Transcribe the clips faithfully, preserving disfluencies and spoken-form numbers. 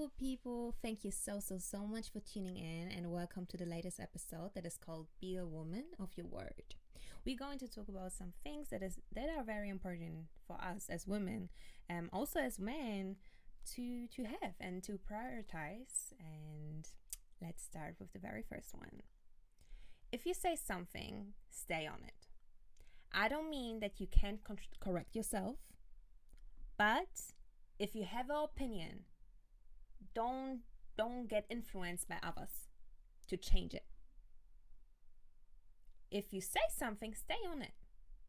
beautiful people. Thank you so, so, so much for tuning in, and welcome to the latest episode that is called Be a Woman of Your Word. We're going to talk about some things that is that are very important for us as women, um, also as men, to to have and to prioritize. And let's start with the very first one. If you say something, stay on it. I don't mean that you can't con- correct yourself, but if you have an opinion, don't don't get influenced by others to change it. If you say something, stay on it.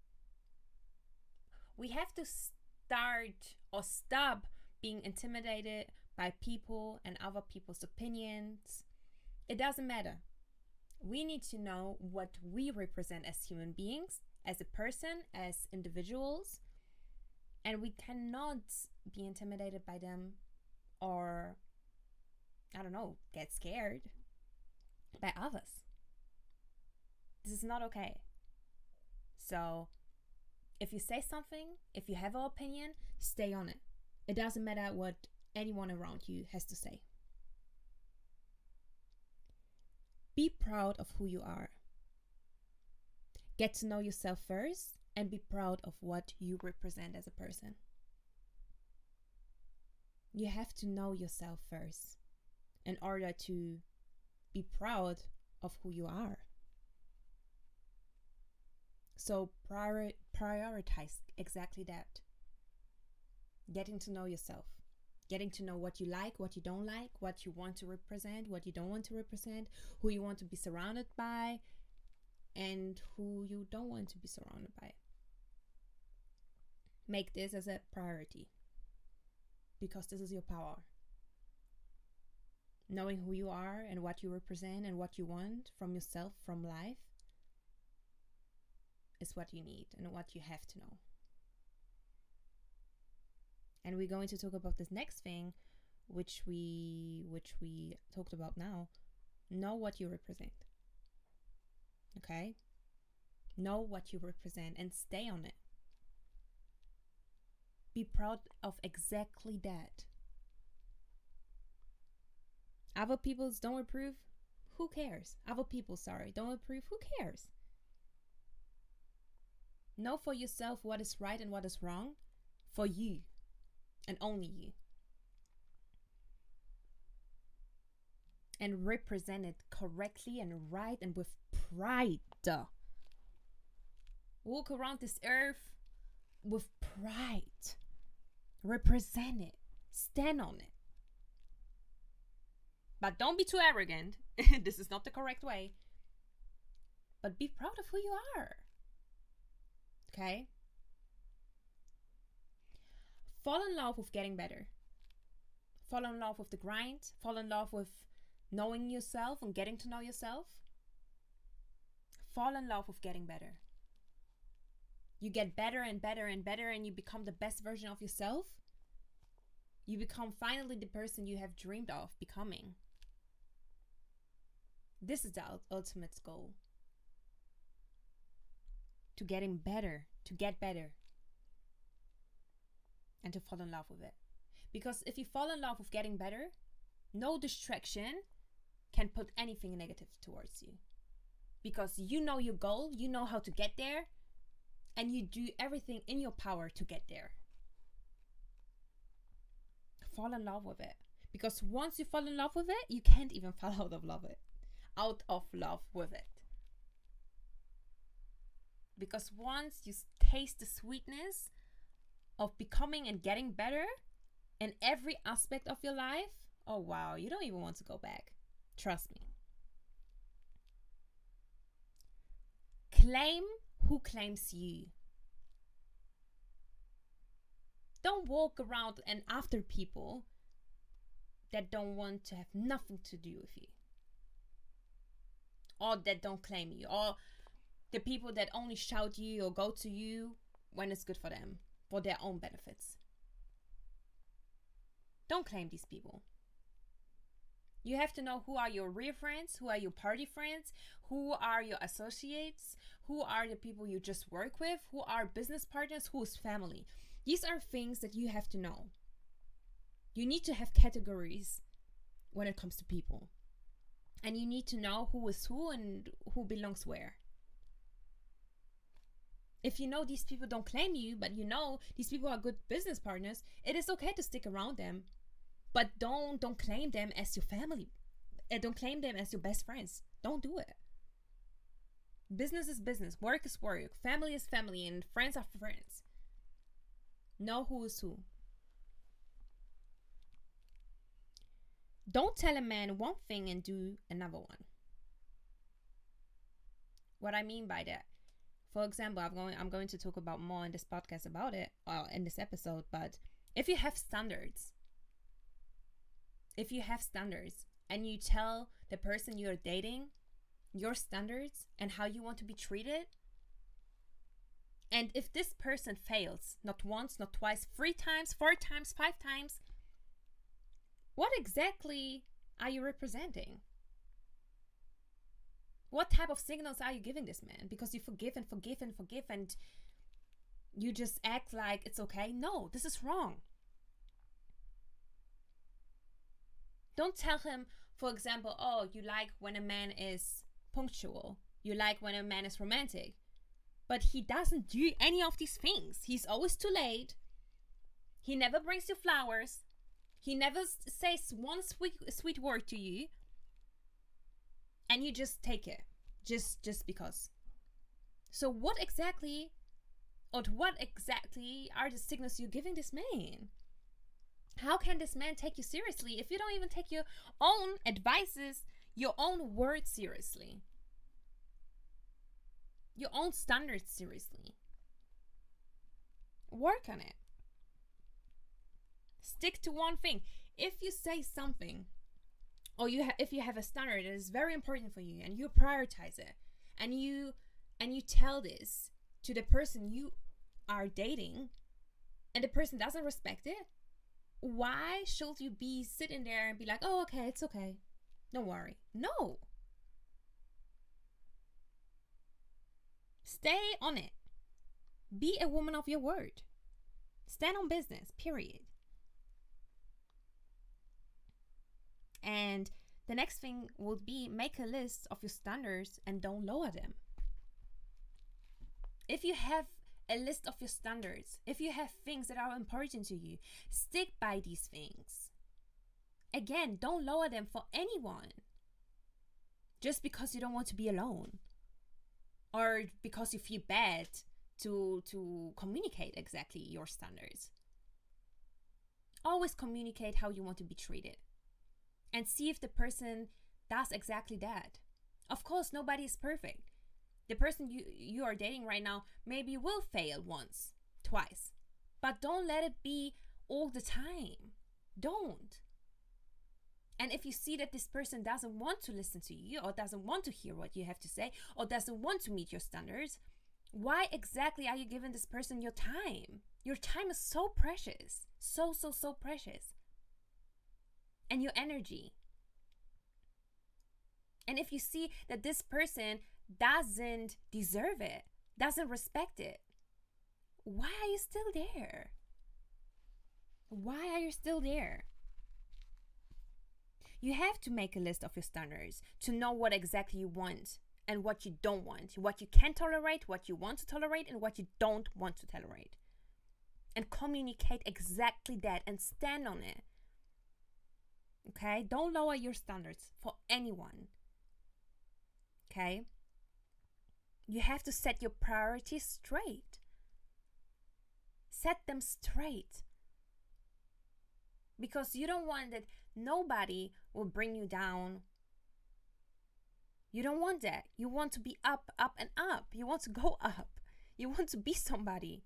We have to start or stop being intimidated by people and other people's opinions. It doesn't matter. We need to know what we represent as human beings, as a person, as individuals, and we cannot be intimidated by them or, I don't know, get scared by others. This is not okay. So if you say something, if you have an opinion, stay on it. It doesn't matter what anyone around you has to say. Be proud of who you are. Get to know yourself first and be proud of what you represent as a person. You have to know yourself first in order to be proud of who you are. So prior- prioritize exactly that. Getting to know yourself. Getting to know what you like, what you don't like, what you want to represent, what you don't want to represent, who you want to be surrounded by, and who you don't want to be surrounded by. Make this as a priority, because this is your power. Knowing who you are and what you represent and what you want from yourself, from life, is what you need and what you have to know. And we're going to talk about this next thing, which we which we talked about now. Know what you represent. Okay? Know what you represent and stay on it. Be proud of exactly that. Other people's don't approve, who cares? Other people, sorry, don't approve, who cares? Know for yourself what is right and what is wrong for you and only you. And represent it correctly and right and with pride. Walk around this earth with pride. Represent it. Stand on it. But don't be too arrogant. This is not the correct way. But be proud of who you are. Okay? Fall in love with getting better. Fall in love with the grind. Fall in love with knowing yourself and getting to know yourself. Fall in love with getting better. You get better and better and better and you become the best version of yourself. You become finally the person you have dreamed of becoming. This is the ultimate goal. To getting better, to get better. And to fall in love with it. Because if you fall in love with getting better, no distraction can put anything negative towards you. Because you know your goal, you know how to get there, and you do everything in your power to get there. Fall in love with it. Because once you fall in love with it, you can't even fall out of love with it. Out of love with it. Because once you taste the sweetness of becoming and getting better in every aspect of your life, oh wow, you don't even want to go back. Trust me. Claim who claims you. Don't walk around and after people that don't want to have nothing to do with you. Or that don't claim you. Or the people that only shout you or go to you when it's good for them. For their own benefits. Don't claim these people. You have to know who are your real friends, who are your party friends, who are your associates, who are the people you just work with, who are business partners, who is family. These are things that you have to know. You need to have categories when it comes to people. And you need to know who is who and who belongs where. If you know these people don't claim you, but you know these people are good business partners, it is okay to stick around them. But don't don't claim them as your family. And don't claim them as your best friends. Don't do it. Business is business. Work is work. Family is family. And friends are friends. Know who is who. Don't tell a man one thing and do another one. What I mean by that, for example, I'm going I'm going to talk about more in this podcast about it, or in this episode, but if you have standards, if you have standards and you tell the person you're dating your standards and how you want to be treated, and if this person fails, not once, not twice, three times, four times, five times, what exactly are you representing? What type of signals are you giving this man? Because you forgive and forgive and forgive and you just act like it's okay. No, this is wrong. Don't tell him, for example, oh, you like when a man is punctual. You like when a man is romantic. But he doesn't do any of these things. He's always too late. He never brings you flowers. He never says one sweet sweet word to you. And you just take it. Just just because. So what exactly, or what exactly are the signals you're giving this man? How can this man take you seriously if you don't even take your own advices, your own words seriously? Your own standards seriously? Work on it. Stick to one thing. If you say something, or you ha- if you have a standard that is very important for you and you prioritize it, and you and you tell this to the person you are dating, and the person doesn't respect it, why should you be sitting there and be like, oh, okay, it's okay, don't worry? No. Stay on it. Be a woman of your word. Stand on business, period. And the next thing would be make a list of your standards and don't lower them. If you have a list of your standards, if you have things that are important to you, stick by these things. Again, don't lower them for anyone. Just because you don't want to be alone. Or because you feel bad to, to communicate exactly your standards. Always communicate how you want to be treated. And see if the person does exactly that. Of course, nobody is perfect. The person you, you are dating right now maybe will fail once, twice. But don't let it be all the time. Don't. And if you see that this person doesn't want to listen to you, or doesn't want to hear what you have to say, or doesn't want to meet your standards, why exactly are you giving this person your time? Your time is so precious. So, so, so precious. And your energy. And if you see that this person doesn't deserve it, doesn't respect it, why are you still there? Why are you still there? You have to make a list of your standards to know what exactly you want and what you don't want, what you can tolerate, what you want to tolerate, and what you don't want to tolerate. And communicate exactly that and stand on it. Okay? Don't lower your standards for anyone. Okay? You have to set your priorities straight. Set them straight. Because you don't want that nobody will bring you down. You don't want that. You want to be up, up, and up. You want to go up. You want to be somebody.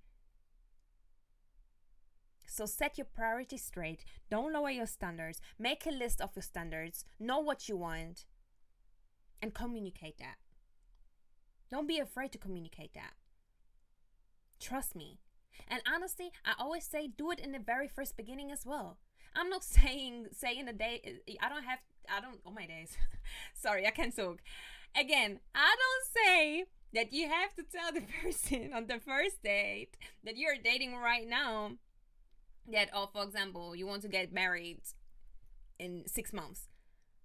So set your priorities straight. Don't lower your standards. Make a list of your standards. Know what you want. And communicate that. Don't be afraid to communicate that. Trust me. And honestly, I always say do it in the very first beginning as well. I'm not saying saying a day. I don't have. I don't. Oh my days. Sorry, I can't talk. Again, I don't say that you have to tell the person on the first date that you're dating right now that, oh, for example, you want to get married in six months.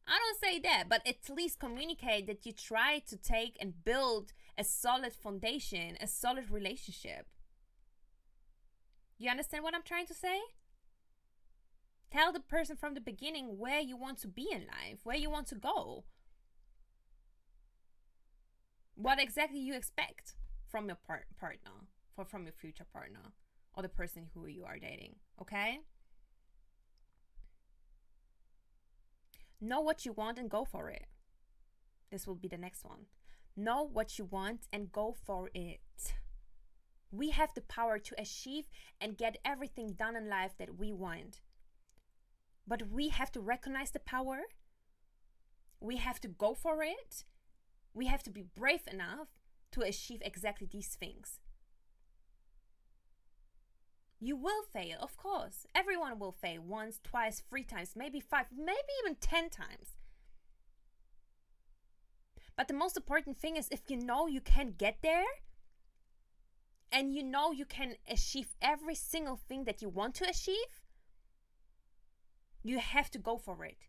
I don't say that, but at least communicate that you try to take and build a solid foundation, a solid relationship. You understand what I'm trying to say? Tell the person from the beginning where you want to be in life, where you want to go. What exactly you expect from your par- partner, or from your future partner, or the person who you are dating, okay? Know what you want and go for it. This will be the next one. Know what you want and go for it. We have the power to achieve and get everything done in life that we want. But we have to recognize the power. We have to go for it. We have to be brave enough to achieve exactly these things. You will fail, of course. Everyone will fail once, twice, three times, maybe five, maybe even ten times. But the most important thing is if you know you can get there and you know you can achieve every single thing that you want to achieve, you have to go for it.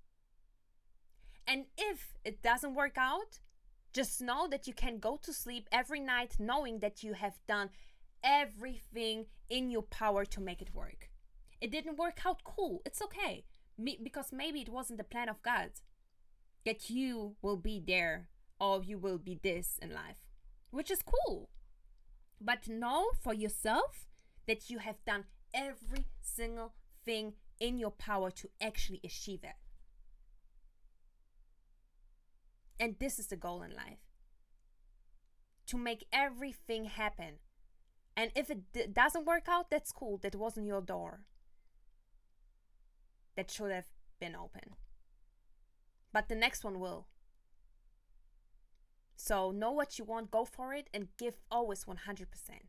And if it doesn't work out, just know that you can go to sleep every night knowing that you have done everything in your power to make it work. It didn't work out, cool, it's okay. Me, because maybe it wasn't the plan of God that you will be there or you will be this in life, which is cool. But know for yourself that you have done every single thing in your power to actually achieve it. And this is the goal in life. To make everything happen. And if it d- doesn't work out, that's cool. That wasn't your door. That should have been open. But the next one will. So know what you want, go for it, and give always one hundred percent.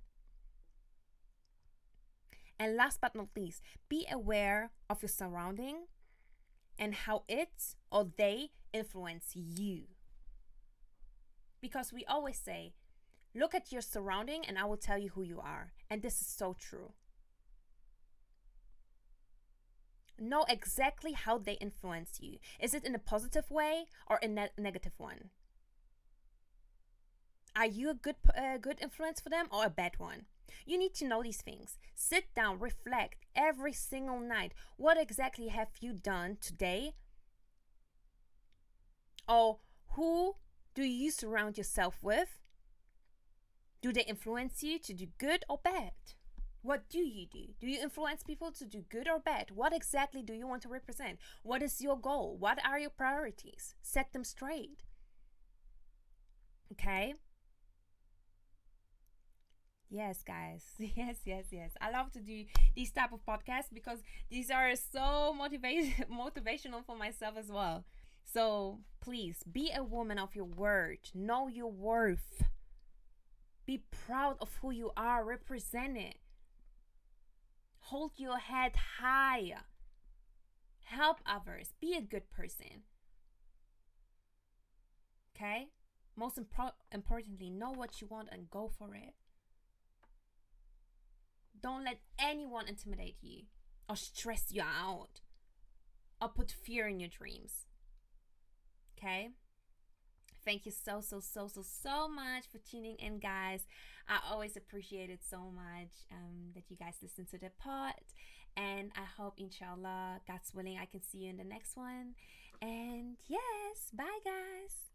And last but not least, be aware of your surrounding and how it or they influence you. Because we always say, look at your surrounding and I will tell you who you are. And this is so true. Know exactly how they influence you. Is it in a positive way or a ne- negative one? Are you a good uh, good influence for them or a bad one? You need to know these things. Sit down, reflect every single night. What exactly have you done today? Or who do you surround yourself with? Do they influence you to do good or bad? What do you do? Do you influence people to do good or bad? What exactly do you want to represent? What is your goal? What are your priorities? Set them straight. Okay? Yes, guys. Yes, yes, yes. I love to do these type of podcasts because these are so motivate- motivational for myself as well. So please be a woman of your word. Know your worth. Be proud of who you are. Represent it. Hold your head high. Help others. Be a good person. Okay? Most impro- importantly, know what you want and go for it. Don't let anyone intimidate you or stress you out or put fear in your dreams. Okay? Thank you so, so, so, so, so much for tuning in, guys. I always appreciate it so much um, that you guys listen to the pod. And I hope, inshallah, God's willing, I can see you in the next one. And yes, bye, guys.